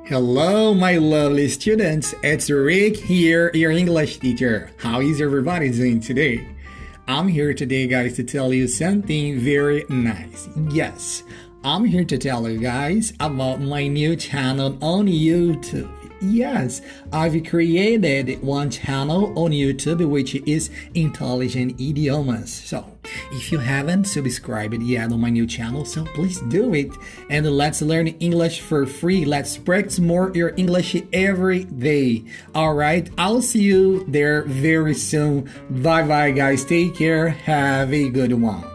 Hello, my lovely students. It's Rick here, your English teacher. How is everybody doing today? I'm here today, guys, to tell you something very nice. Yes, I'm here to tell you guys about my new channel on YouTube. Yes, I've created one channel on YouTube which is Intelligent Idiomas. So, if you haven't subscribed yet on my new channel, so please do it. And let's learn English for free. Let's practice more your English every day. Alright, I'll see you there very soon. Bye bye, guys. Take care. Have a good one.